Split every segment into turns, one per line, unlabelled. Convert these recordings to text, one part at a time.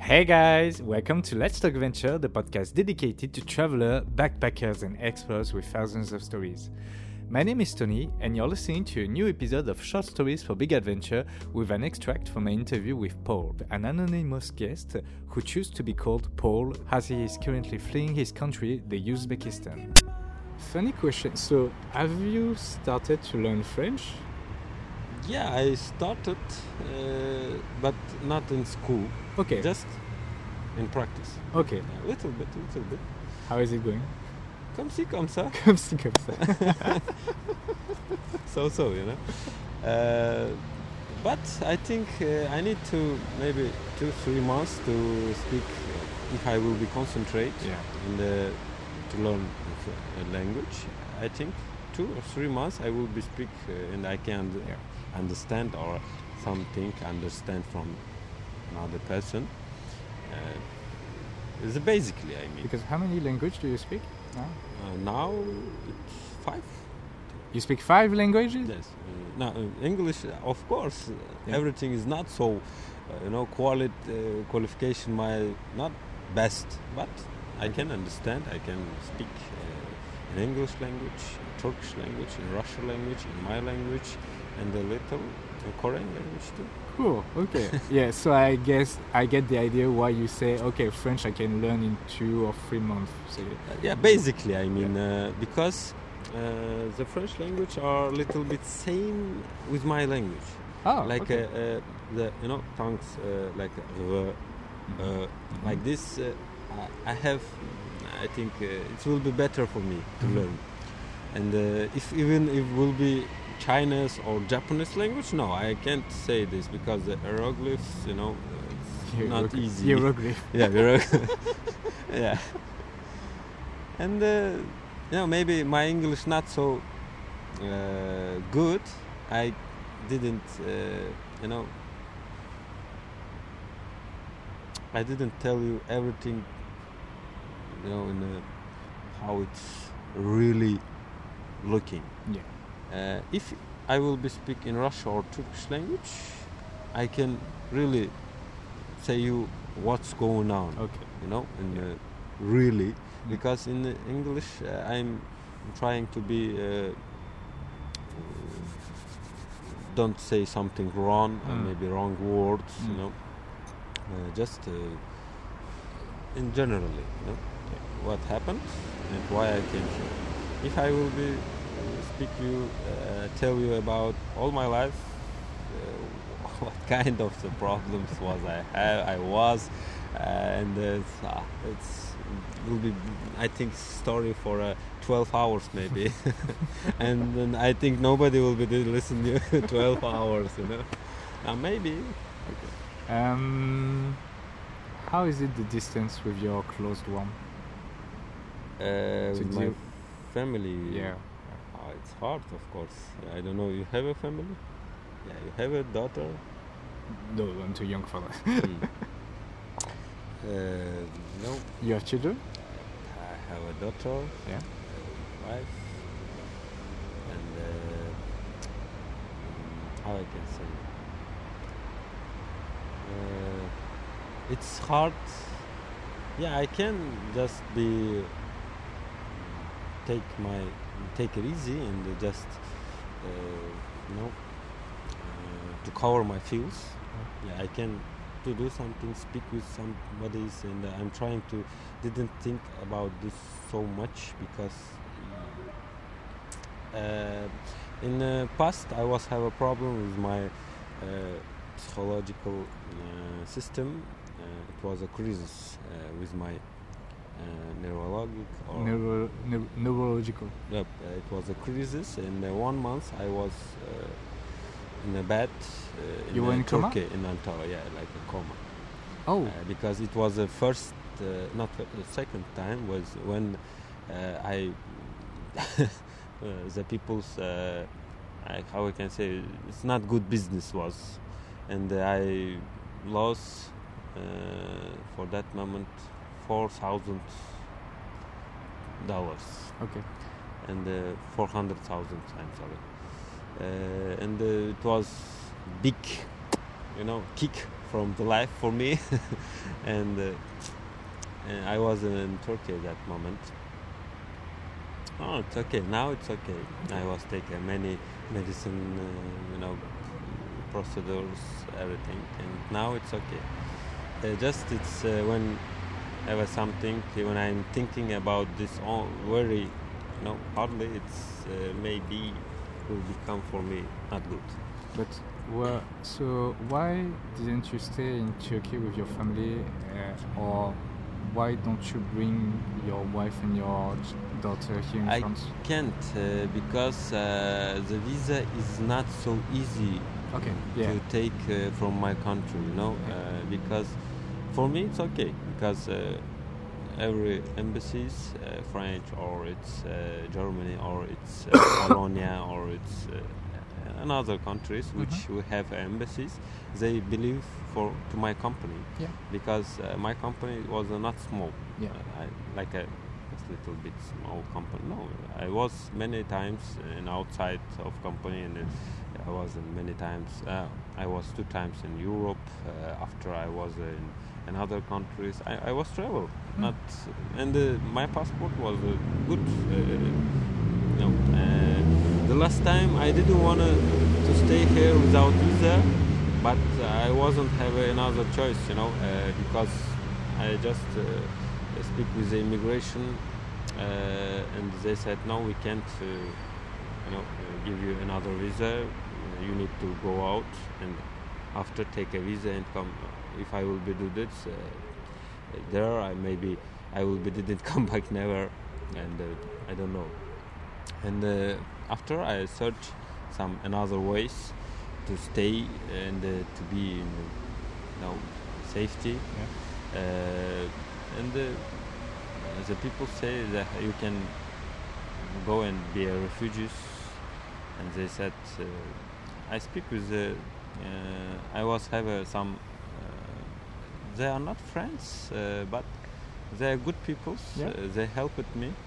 Hey guys, welcome to Let's Talk Venture, the podcast dedicated to travelers, backpackers, and explorers with thousands of stories. My name is Tony, and you're listening to a new episode of Short Stories for Big Adventure with an extract from my interview with Paul, an anonymous guest who chose to be called Paul as he is currently fleeing his country, the Uzbekistan. Funny question, so have you started to learn French?
Yeah, I started, but not in school.
Okay.
Just in practice.
Okay.
A little bit.
How is it going?
Comme ci, comme ça.
Comme ci, comme ça.
So, you know. But I think I need to maybe 2-3 months to speak. If I will be concentrate to learn a language, I think 2 or 3 months I will be speak and I can understand or something understand from another person. It's basically, I mean.
Because how many languages do you speak now?
Now it's 5.
You speak 5 languages?
Yes. Now English, of course, everything is not so, qualification my not best, but I can understand. I can speak in English language, Turkish language, in Russian language, in my language, and a little Korean language too.
Cool, okay. Yeah, so I guess I get the idea why you say, okay, French I can learn in 2 or 3 months. So,
basically, I mean, because the French language are a little bit same with my language.
Oh,
like
okay.
the tongues like like this. I have. I think it will be better for me to learn. And if it will be Chinese or Japanese language, no, I can't say this because the hieroglyphs, it's not easy.
Hieroglyph.
Yeah, yeah. And maybe my English not so good. I didn't, I didn't tell you everything, in how it's really looking.
Yeah.
If I will be speak in Russian or Turkish language, I can really say you what's going on.
Okay.
Really, because in the English I'm trying to be don't say something wrong or maybe wrong words. Just in generally, what happened and why I came here. If I will be tell you about all my life, what kind of the problems I was, and it's will be, I think, story for 12 hours maybe, and then I think nobody will be listening to 12 hours, maybe.
Okay. How is it the distance with your closed one?
With my family.
Yeah.
It's hard, of course. I don't know. You have a family? Yeah, you have a daughter?
No, I'm too young for that.
No.
You have children?
I have a daughter.
Yeah.
A wife. And how I can say? It's hard. Yeah, I can just be take it easy and just to cover my feels. Yeah, I can to do something, speak with somebody, and I'm trying to didn't think about this so much because in the past I have a problem with my psychological system. It was a crisis with my
neurological.
Yep, it was a crisis. In 1 month, I was in a bed.
You were in coma?
Turkey, in Antalya, like a coma.
Oh.
Because it was the first, not the second time, was when I, the people's, how I can say, it's not good business was, and I lost for that moment $4,000.
Okay.
And 400,000. I'm sorry. And it was big, kick from the life for me. and I was in Turkey at that moment. Oh, it's okay. Now it's okay. I was taking many medicine, procedures, everything, and now it's okay. Just it's when I have something, when I'm thinking about this very, hardly, it's maybe will become for me not good.
But so why didn't you stay in Turkey with your family, or why don't you bring your wife and your daughter here in France?
I can't because the visa is not so easy to take from my country, because for me it's okay, because every embassies, French or it's Germany or it's Polonia or it's another countries which we have embassies, they believe to my company, because my company was not small, like a little bit small company. No, I was many times in outside of company, and I was in many times. I was 2 times in Europe. After I was in other countries, I was travel. My passport was good. The last time I didn't want to stay here without visa, but I wasn't have another choice, because I just speak with the immigration, and they said no, we can't, give you another visa. You need to go out and after take a visa and come. If I will be do this there, I will be didn't come back never, and I don't know. And after I search some another ways to stay and to be in safety, and the people say that you can go and be a refugees, and they said I speak with I was have some they are not friends, but they are good people. They helped me.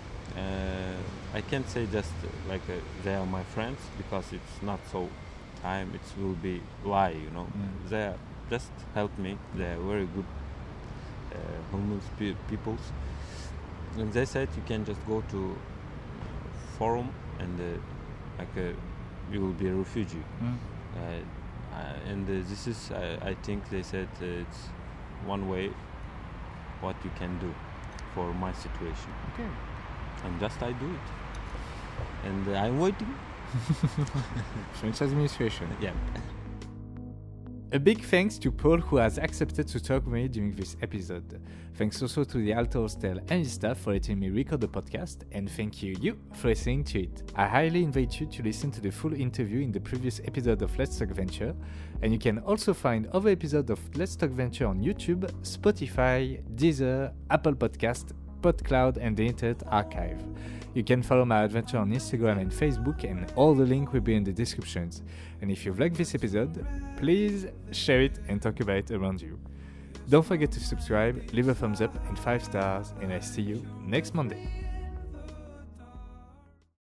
I can't say just like they are my friends, because it's not so time. It will be lie, They are just help me. They are very good homeless peoples, and they said you can just go to forum and you will be a refugee. And this is I think they said it's one way what you can do for my situation.
Okay.
And just I do it, and I'm waiting.
French administration.
Yeah.
A big thanks to Paul, who has accepted to talk with me during this episode. Thanks also to the Alto Hostel and his staff for letting me record the podcast, and thank you for listening to it. I highly invite you to listen to the full interview in the previous episode of Let's Talk Venture, and you can also find other episodes of Let's Talk Venture on YouTube, Spotify, Deezer, Apple Podcast, PodCloud, and the Internet Archive. You can follow my adventure on Instagram and Facebook, and all the links will be in the descriptions. And if you've liked this episode, please share it and talk about it around you. Don't forget to subscribe, leave a thumbs up and 5 stars, and I see you next Monday.